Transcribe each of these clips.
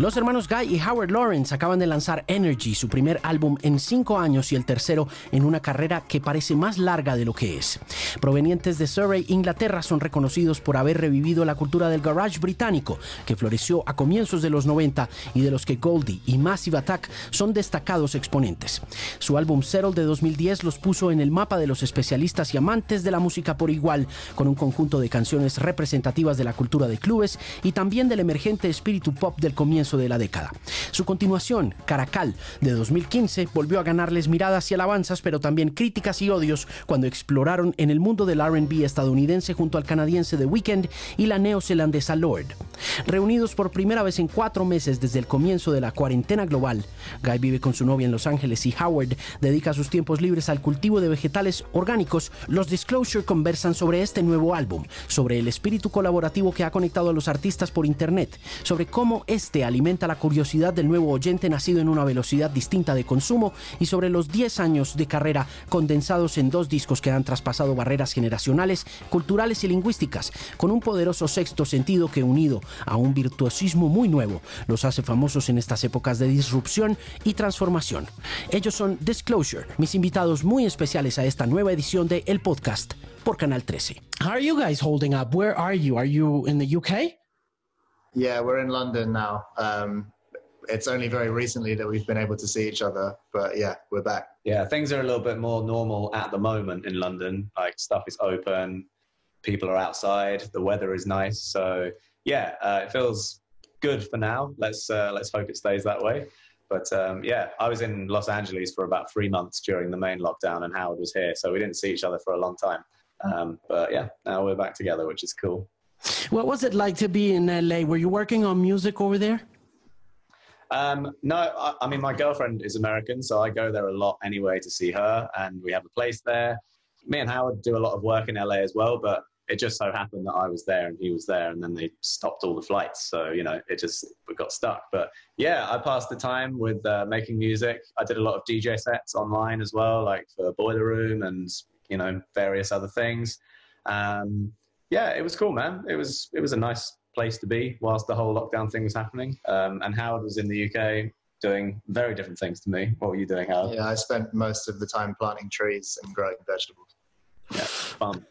Los hermanos Guy y Howard Lawrence acaban de lanzar Energy, su primer álbum en 5 años y el tercero en una carrera que parece más larga de lo que es. Provenientes de Surrey, Inglaterra, son reconocidos por haber revivido la cultura del garage británico, que floreció a comienzos de los 90 y de los que Goldie y Massive Attack son destacados exponentes. Su álbum Settle de 2010 los puso en el mapa de los especialistas y amantes de la música por igual, con un conjunto de canciones representativas de la cultura de clubes y también del emergente espíritu pop del comienzo de la década. Su continuación, Caracal, de 2015, volvió a ganarles miradas y alabanzas, pero también críticas y odios cuando exploraron en el mundo del R&B estadounidense junto al canadiense The Weeknd y la neozelandesa Lorde. Reunidos por primera vez en 4 meses desde el comienzo de la cuarentena global, Guy vive con su novia en Los Ángeles y Howard dedica sus tiempos libres al cultivo de vegetales orgánicos. Los Disclosure conversan sobre este nuevo álbum, sobre el espíritu colaborativo que ha conectado a los artistas por internet, sobre cómo este alimenta la curiosidad del nuevo oyente nacido en una velocidad distinta de consumo y sobre los 10 años de carrera condensados en 2 discos que han traspasado barreras generacionales, culturales y lingüísticas, con un poderoso sexto sentido que, unido a un virtuosismo muy nuevo, los hace famosos en estas épocas de disrupción y transformación. Ellos son Disclosure, mis invitados muy especiales a esta nueva edición de El Podcast por Canal 13. How are you guys holding up? Where are you? Are you in the UK? Yeah, we're in London now. It's only very recently that we've been able to see each other, but yeah, we're back. Yeah, things are a little bit more normal at the moment in London. Like, stuff is open, people are outside, the weather is nice. So yeah, it feels good for now. Let's hope it stays that way. But yeah, I was in Los Angeles for about 3 months during the main lockdown, and Howard was here, so we didn't see each other for a long time. But yeah, now we're back together, which is cool. What was it like to be in LA? Were you working on music over there? No, I mean, my girlfriend is American, so I go there a lot anyway to see her, and we have a place there. Me and Howard do a lot of work in LA as well, but it just so happened that I was there and he was there, and then they stopped all the flights. So, you know, we got stuck. But yeah, I passed the time with making music. I did a lot of DJ sets online as well, like for Boiler Room and, you know, various other things. Yeah, it was cool, man. It was a nice place to be whilst the whole lockdown thing was happening. And Howard was in the UK doing very different things to me. What were you doing, Howard? Yeah, I spent most of the time planting trees and growing vegetables. Yeah, fun.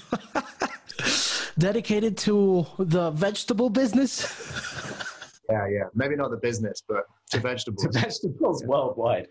Dedicated to the vegetable business? Yeah. Maybe not the business, but to vegetables. To vegetables worldwide.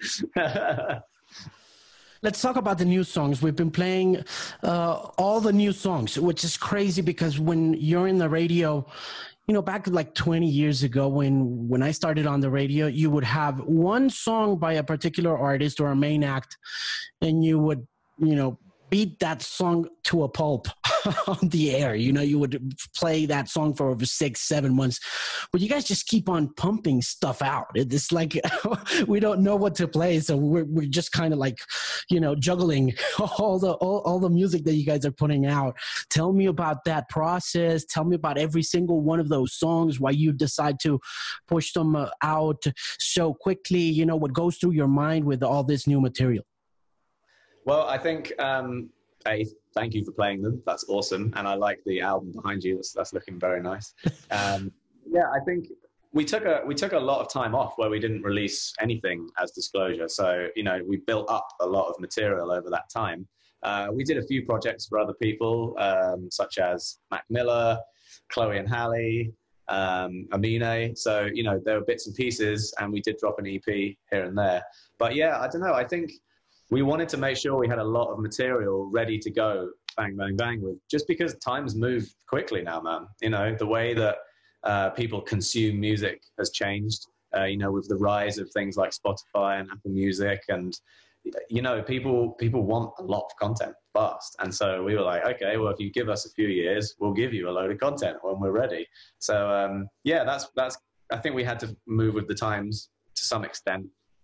Let's talk about the new songs. We've been playing all the new songs, which is crazy because when you're in the radio, you know, back like 20 years ago when I started on the radio, you would have one song by a particular artist or a main act, and you would, you know, beat that song to a pulp on the air. You know, you would play that song for over 6-7 months, but you guys just keep on pumping stuff out. It's like we don't know what to play, so we're just kind of like, you know, juggling all the music that you guys are putting out. Tell me about that process. Tell me about every single one of those songs, why you decide to push them out so quickly. You know, what goes through your mind with all this new material? Well, I think, thank you for playing them. That's awesome. And I like the album behind you. That's looking very nice. Yeah, I think we took a lot of time off where we didn't release anything as Disclosure. So, you know, we built up a lot of material over that time. We did a few projects for other people, such as Mac Miller, Chloe and Halle, Amine. So, you know, there were bits and pieces, and we did drop an EP here and there. But yeah, I don't know. I think we wanted to make sure we had a lot of material ready to go, bang, bang, bang, with, just because times move quickly now, man. You know, the way that people consume music has changed, you know, with the rise of things like Spotify and Apple Music. And, you know, people want a lot of content fast. And so we were like, okay, well, if you give us a few years, we'll give you a load of content when we're ready. So, yeah, that's, I think we had to move with the times to some extent.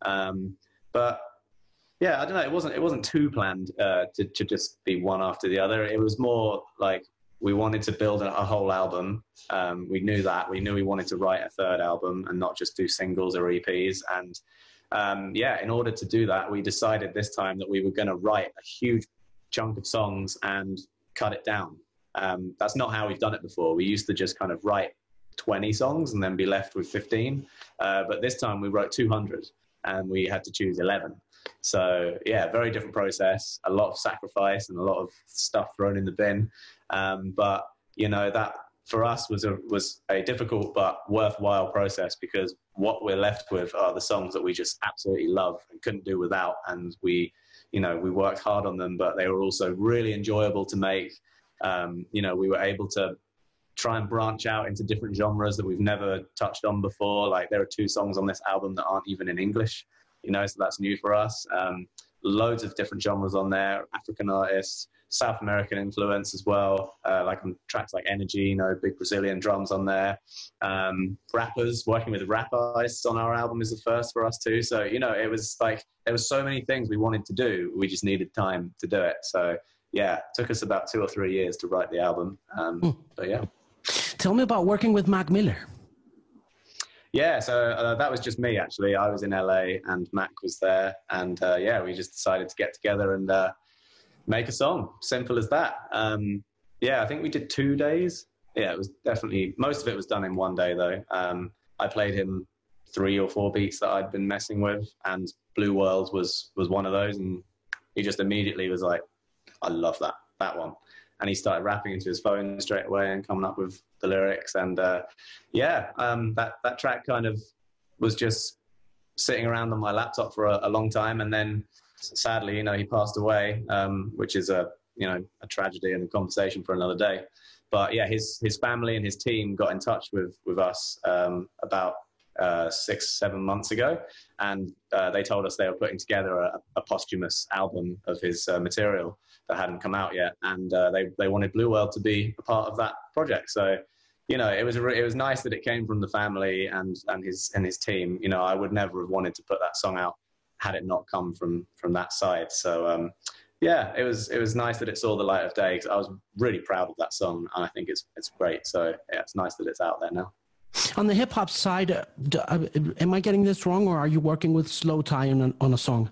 But yeah, I don't know. It wasn't too planned to just be one after the other. It was more like we wanted to build a whole album. We knew that. We knew we wanted to write a third album and not just do singles or EPs. And yeah, in order to do that, we decided this time that we were going to write a huge chunk of songs and cut it down. That's not how we've done it before. We used to just kind of write 20 songs and then be left with 15. But this time we wrote 200 and we had to choose 11. So yeah, very different process, a lot of sacrifice and a lot of stuff thrown in the bin. But you know, that for us was a difficult but worthwhile process, because what we're left with are the songs that we just absolutely love and couldn't do without. And we worked hard on them, but they were also really enjoyable to make. You know, we were able to try and branch out into different genres that we've never touched on before. Like, there are 2 songs on this album that aren't even in English, you know, so that's new for us. Loads of different genres on there, African artists, South American influence as well, like on tracks like Energy, you know, big Brazilian drums on there. Rappers, working with rap artists on our album is the first for us too. So, you know, it was like, there was so many things we wanted to do. We just needed time to do it. So yeah, it took us about 2 or 3 years to write the album. But yeah. Tell me about working with Mac Miller. Yeah, so that was just me, actually. I was in LA and Mac was there. And yeah, we just decided to get together and make a song. Simple as that. Yeah, I think we did 2 days. Yeah, it was definitely, most of it was done in 1 day though. I played him 3 or 4 beats that I'd been messing with, and Blue World was one of those. And he just immediately was like, I love that one. And he started rapping into his phone straight away and coming up with the lyrics. And yeah, that track kind of was just sitting around on my laptop for a long time. And then sadly, you know, he passed away, which is a tragedy and a conversation for another day. But yeah, his family and his team got in touch with us about 6-7 months ago, and they told us they were putting together a posthumous album of his material that hadn't come out yet, and they wanted Blue World to be a part of that project. So, you know, it was nice that it came from the family and his team. You know, I would never have wanted to put that song out had it not come from that side. So yeah, it was nice that it saw the light of day, because I was really proud of that song, and I think it's great. So yeah, it's nice that it's out there now. On the hip hop side, am I getting this wrong, or are you working with Slowthai on a song?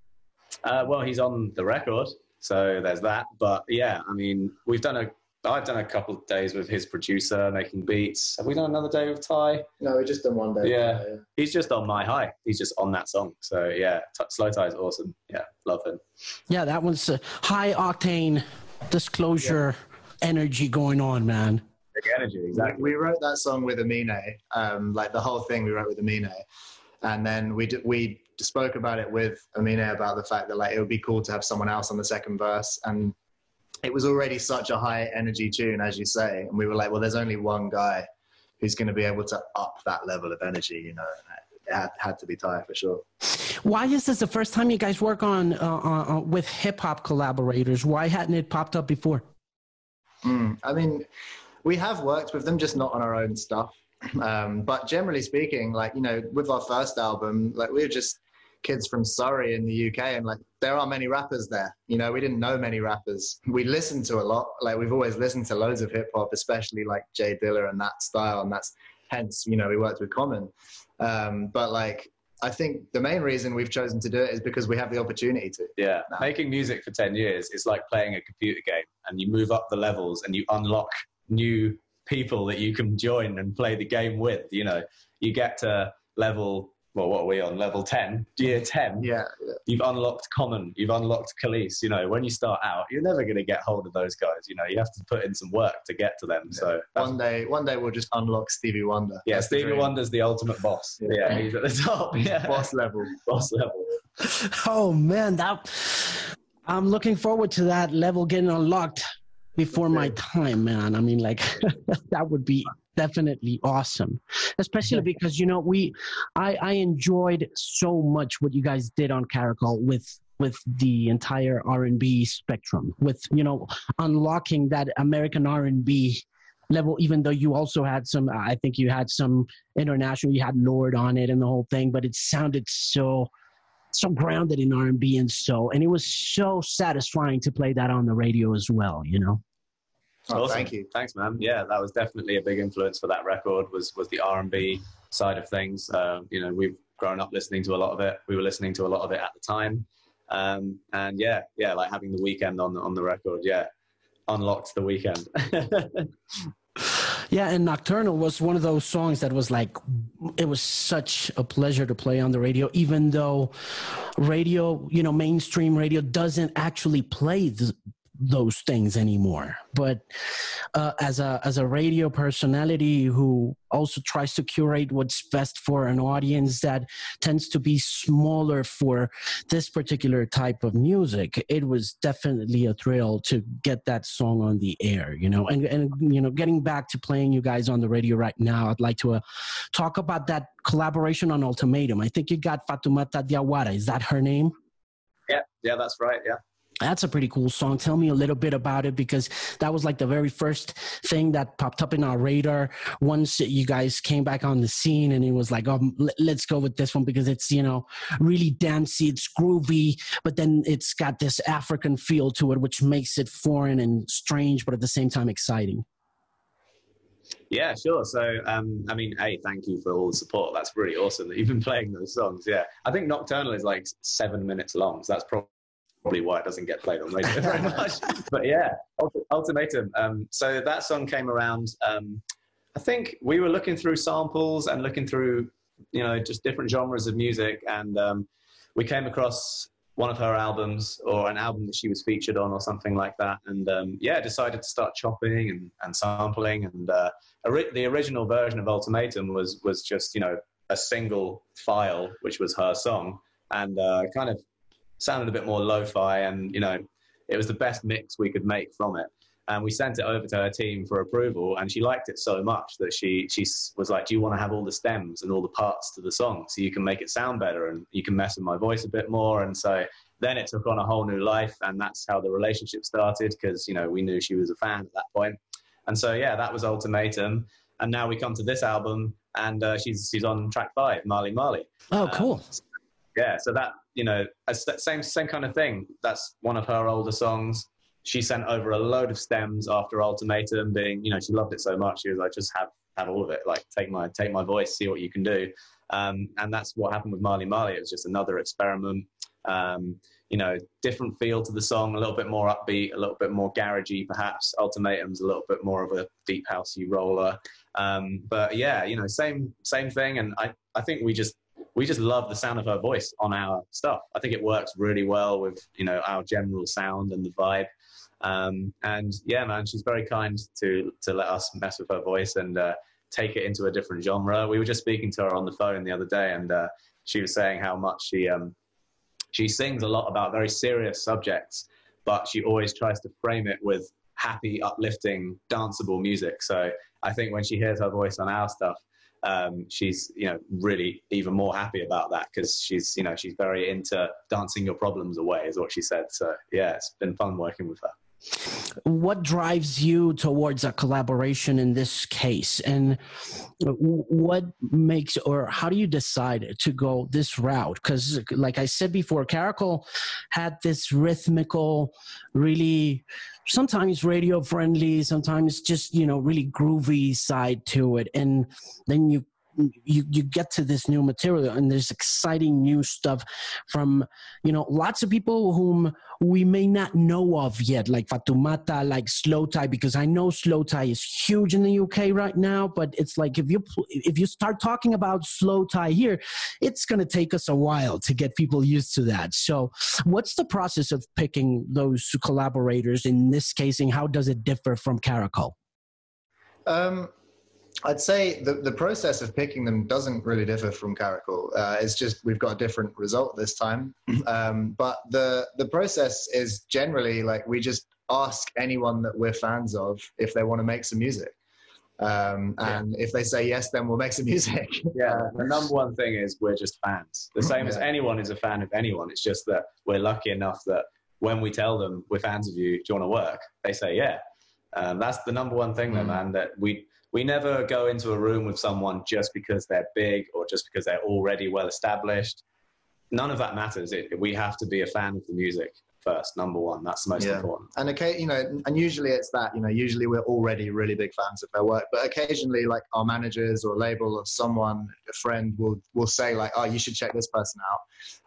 Well, he's on the record, so there's that. But yeah, I mean, I've done a couple of days with his producer making beats. Have we done another day with Ty? No, we just done 1 day. Yeah. He's just on My High. He's just on that song. So yeah, Slowthai is awesome. Yeah, love him. Yeah, that one's high octane disclosure energy going on, man. Energy, exactly. We wrote that song with Amine, like the whole thing we wrote with Amine, and then we spoke about it with Amine about the fact that like it would be cool to have someone else on the second verse, and it was already such a high energy tune, as you say, and we were like, well, there's only one guy who's going to be able to up that level of energy, you know. It had to be Ty for sure. Why is this the first time you guys work on with hip hop collaborators? Why hadn't it popped up before? I mean, we have worked with them, just not on our own stuff. But generally speaking, like, you know, with our first album, like, we were just kids from Surrey in the UK, and like, there are many rappers there. You know, we didn't know many rappers. We listened to a lot. Like, we've always listened to loads of hip hop, especially like Jay Dilla and that style. And that's hence, you know, we worked with Common. But like, I think the main reason we've chosen to do it is because we have the opportunity to. Yeah, making music for 10 years is like playing a computer game, and you move up the levels and you unlock new people that you can join and play the game with. You know, you get to level, well, what are we on? Level 10, year 10. Yeah. You've unlocked Common, you've unlocked Khalees. You know, when you start out, you're never going to get hold of those guys. You know, you have to put in some work to get to them. Yeah. So one day we'll just unlock Stevie Wonder. Yeah, Stevie Wonder's the ultimate boss. Yeah, he's at the top. Yeah. Boss level. Boss level. Oh man, I'm looking forward to that level getting unlocked before my time, man. I mean, like, that would be definitely awesome, especially because, you know, I enjoyed so much what you guys did on Caracol with the entire R&B spectrum, with, you know, unlocking that American R&B level, even though you also had some, I think you had some international, you had Lorde on it and the whole thing, but it sounded so grounded in R&B and it was so satisfying to play that on the radio as well, you know. Oh, awesome. Thank you. Thanks, man. Yeah, that was definitely a big influence for that record, was the R&B side of things. You know, we've grown up listening to a lot of it. We were listening to a lot of it at the time. And yeah, like having The Weeknd on the record, yeah, unlocked The Weeknd. Yeah, and Nocturnal was one of those songs that was like, it was such a pleasure to play on the radio, even though radio, you know, mainstream radio doesn't actually play those things anymore. But as a radio personality who also tries to curate what's best for an audience that tends to be smaller for this particular type of music, it was definitely a thrill to get that song on the air, you know. And you know, getting back to playing you guys on the radio right now, I'd like to talk about that collaboration on Ultimatum. I think you got Fatoumata Diawara. Is that her name? Yeah, that's right. Yeah. That's a pretty cool song. Tell me a little bit about it, because that was like the very first thing that popped up in our radar once you guys came back on the scene, and it was like, oh, let's go with this one because it's, you know, really dancey, it's groovy, but then it's got this African feel to it, which makes it foreign and strange, but at the same time exciting. Yeah, sure. So, I mean, hey, thank you for all the support. That's really awesome that you've been playing those songs. Yeah, I think Nocturnal is like 7 minutes long, so that's probably why it doesn't get played on radio very much. But yeah, Ultimatum. So that song came around. I think we were looking through samples and looking through, you know, just different genres of music, and we came across one of her albums, or an album that she was featured on, or something like that. And yeah, decided to start chopping and sampling. And the original version of Ultimatum was just, you know, a single file, which was her song, and kind of sounded a bit more lo-fi, and, you know, it was the best mix we could make from it. And we sent it over to her team for approval, and she liked it so much that she was like, do you want to have all the stems and all the parts to the song so you can make it sound better and you can mess with my voice a bit more? And so then it took on a whole new life, and that's how the relationship started, because, you know, we knew she was a fan at that point. And so, yeah, that was Ultimatum. And now we come to this album, and she's on track 5, Marley Marley. Oh, cool. Yeah, so that, you know, same kind of thing. That's one of her older songs. She sent over a load of stems after Ultimatum, being, you know, she loved it so much. She was like, just have all of it. Like, take my voice, see what you can do. And that's what happened with Marley Marley. It was just another experiment. You know, different feel to the song, a little bit more upbeat, a little bit more garagey, perhaps. Ultimatum's a little bit more of a deep housey roller. But yeah, you know, same thing. And I think we just love the sound of her voice on our stuff. I think it works really well with, you know, our general sound and the vibe. And yeah, man, she's very kind to let us mess with her voice and take it into a different genre. We were just speaking to her on the phone the other day, and she was saying how much she sings a lot about very serious subjects, but she always tries to frame it with happy, uplifting, danceable music. So I think when she hears her voice on our stuff, she's, you know, really even more happy about that, because she's, you know, she's very into dancing your problems away, is what she said. So yeah, it's been fun working with her. What drives you towards a collaboration in this case, and what makes, or how do you decide to go this route? Because like I said before, Caracol had this rhythmical, really sometimes radio friendly, sometimes just, you know, really groovy side to it, and then you get to this new material, and there's exciting new stuff from, you know, lots of people whom we may not know of yet, like Fatoumata, like Slowthai, because I know Slowthai is huge in the UK right now, but it's like if you start talking about Slowthai here, it's going to take us a while to get people used to that. So what's the process of picking those collaborators in this case, and how does it differ from Caracol? I'd say the process of picking them doesn't really differ from Caracol. It's just we've got a different result this time. But the process is generally like we just ask anyone that we're fans of if they want to make some music. And if they say yes, then we'll make some music. Yeah, the number one thing is we're just fans. The same as anyone is a fan of anyone. It's just that we're lucky enough that when we tell them we're fans of you, do you want to work? They say yeah. That's the number one thing, though, man, that we never go into a room with someone just because they're big or just because they're already well established. None of that matters. We have to be a fan of the music first, number one. That's the most important. And okay, you know, and usually it's that, you know, usually we're already really big fans of their work, but occasionally like our managers or label or someone, a friend will say like, oh, you should check this person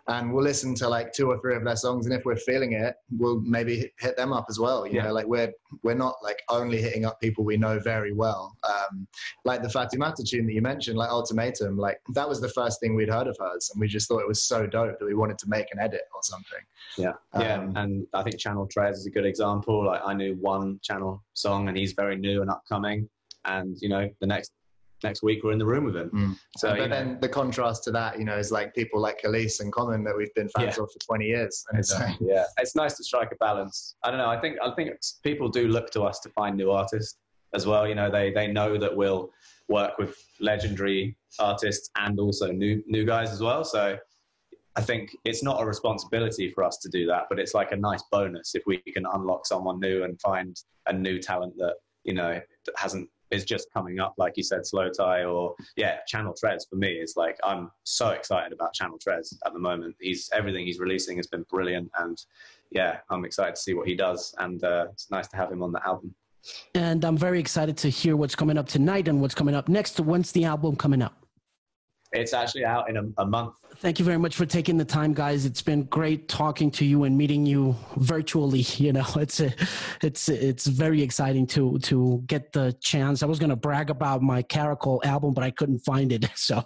and we'll listen to like 2 or 3 of their songs, and if we're feeling it, we'll maybe hit them up as well. You know, like we're not like only hitting up people we know very well. Like the Fatimata tune that you mentioned, like Ultimatum, like that was the first thing we'd heard of hers, and we just thought it was so dope that we wanted to make an edit or something. And I think Channel Trez is a good example. Like I knew one Channel song, and he's very new and upcoming, and you know, the next week we're in the room with him. So, but then the contrast to that, you know, is like people like Khalees and Common that we've been fans of for 20 years. And it's like, it's nice to strike a balance. I don't know. I think people do look to us to find new artists as well. You know, they know that we'll work with legendary artists and also new guys as well. So I think it's not a responsibility for us to do that, but it's like a nice bonus if we can unlock someone new and find a new talent that, you know, that is just coming up, like you said, Slow Tie, or Channel Trez for me is like, I'm so excited about Channel Trez at the moment. Everything he's releasing has been brilliant, and I'm excited to see what he does, and it's nice to have him on the album. And I'm very excited to hear what's coming up tonight and what's coming up next. When's the album coming up? It's actually out in a month. Thank you very much for taking the time, guys. It's been great talking to you and meeting you virtually. You know, it's very exciting to get the chance. I was going to brag about my Caracol album, but I couldn't find it. So,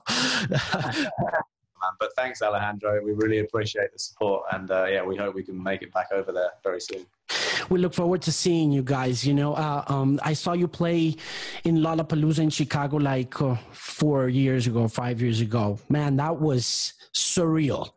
but thanks, Alejandro. We really appreciate the support, and we hope we can make it back over there very soon. We look forward to seeing you guys. You know, I saw you play in Lollapalooza in Chicago like 4 years ago, 5 years ago. Man, that was surreal.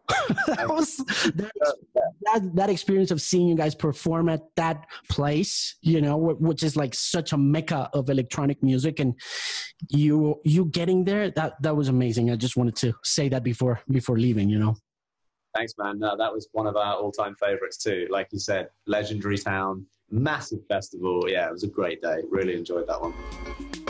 that experience of seeing you guys perform at that place, you know, which is like such a mecca of electronic music, and you getting there, that was amazing. I just wanted to say that before leaving, you know. Thanks, man. No, that was one of our all-time favorites too. Like you said, legendary town, massive festival. Yeah, it was a great day. Really enjoyed that one.